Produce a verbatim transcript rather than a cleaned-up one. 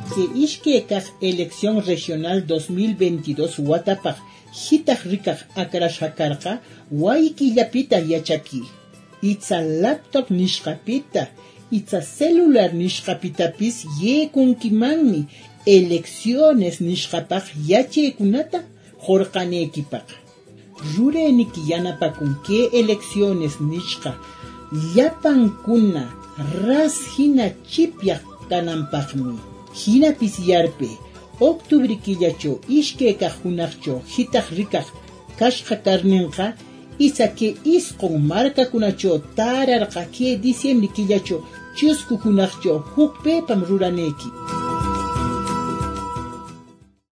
que ishkekaj elección regional dos mil veintidós watapaj hitaj rikaj akrashakarqa waykillapita yachaki. Itza laptop nishqapita, itza celular nishqapitapis yekunkimanmi elecciones nishqapaj yachaykunata jorqaneykipaq. Rureniki yanapakun que elecciones nishqa llapankuna ras hina chipyaq kananpaqmi. Hinapis yarpe octubre killacho ishkekaq hunaqcho hitaj rikaq kashqa karninqa isa que isqun markakunacho tararqa que diciembre killacho chusku hunaqcho hukpepam ruraneki.